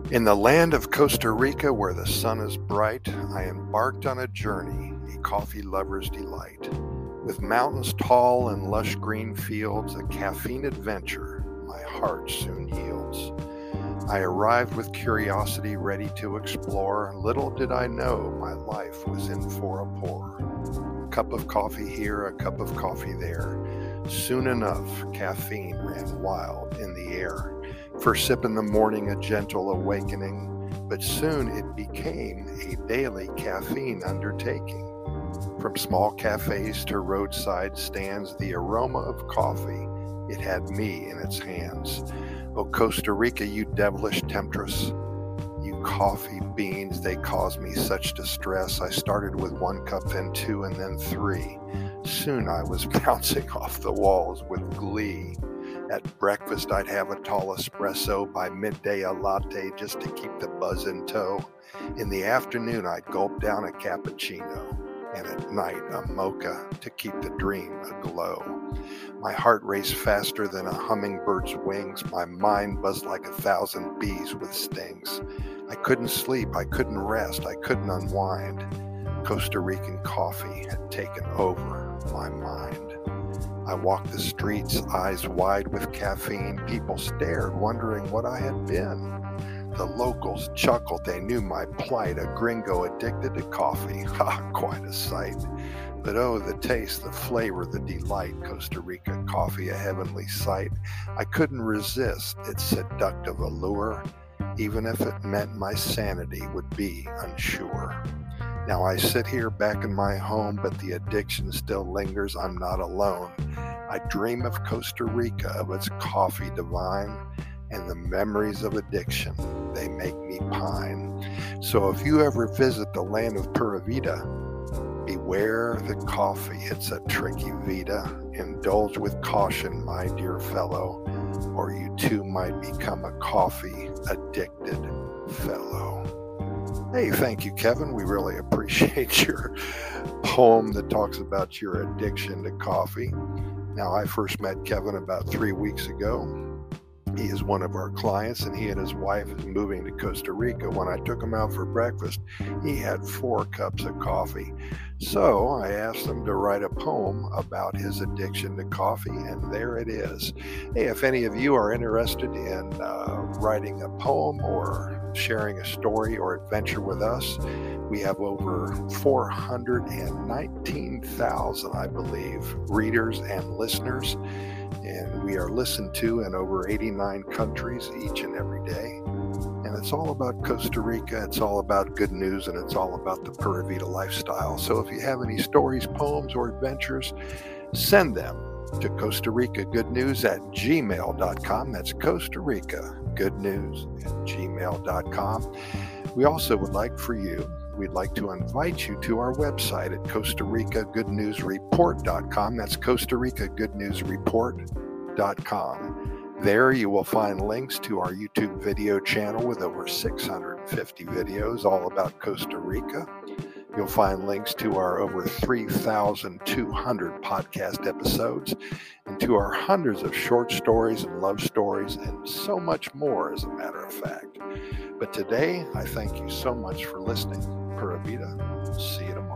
In the land of Costa Rica, where the sun is bright, I embarked on a journey, a coffee lover's delight. With mountains tall and lush green fields, a caffeine adventure my heart soon yields. I arrived with curiosity ready to explore. Little did I know my life was in for a pour. A cup of coffee here, a cup of coffee there. Soon enough, caffeine ran wild in the air. First sip in the morning, a gentle awakening, but soon it became a daily caffeine undertaking. From small cafes to roadside stands, the aroma of coffee, it had me in its hands. Oh, Costa Rica, you devilish temptress, you coffee beans, they cause me such distress. I started with 1 cup, then 2, and then 3. Soon I was bouncing off the walls with glee. At breakfast, I'd have a tall espresso. By midday, a latte just to keep the buzz in tow. In the afternoon, I'd gulp down a cappuccino. And at night, a mocha to keep the dream aglow. My heart raced faster than a hummingbird's wings. My mind buzzed like 1,000 bees with stings. I couldn't sleep, I couldn't rest, I couldn't unwind. Costa Rican coffee had taken over my mind. I walked the streets, eyes wide with caffeine. People stared, wondering what I had been. The locals chuckled, they knew my plight. A gringo addicted to coffee, ha, quite a sight. But oh, the taste, the flavor, the delight. Costa Rica coffee, a heavenly sight. I couldn't resist its seductive allure, even if it meant my sanity would be unsure. Now I sit here back in my home, but the addiction still lingers. I'm not alone. I dream of Costa Rica, of its coffee divine, and the memories of addiction, they make me pine. So if you ever visit the land of Pura Vida, beware the coffee, it's a tricky vida. Indulge with caution, my dear fellow, or you too might become a coffee addicted fellow. Hey, thank you, Kevin. We really appreciate your poem that talks about your addiction to coffee. Now, I first met Kevin about 3 weeks ago. He is one of our clients, and he and his wife is moving to Costa Rica. When I took him out for breakfast, he had 4 cups of coffee. So I asked him to write a poem about his addiction to coffee, and there it is. Hey, if any of you are interested in writing a poem or sharing a story or adventure with us, we have over 419,000, I believe, readers and listeners. And we are listened to in over 89 countries each and every day. And it's all about Costa Rica, it's all about good news, and it's all about the Pura Vida lifestyle. So if you have any stories, poems, or adventures, send them to Costa Rica Good News at gmail.com. That's Costa Rica Good News at gmail.com. We also would like for you, we'd like to invite you to our website at Costa Rica Good News Report.com. That's Costa Rica Good News Report.com. There you will find links to our YouTube video channel with over 650 videos all about Costa Rica. You'll find links to our over 3,200 podcast episodes and to our hundreds of short stories and love stories and so much more, as a matter of fact. But today, I thank you so much for listening. Pura Vida. See you tomorrow.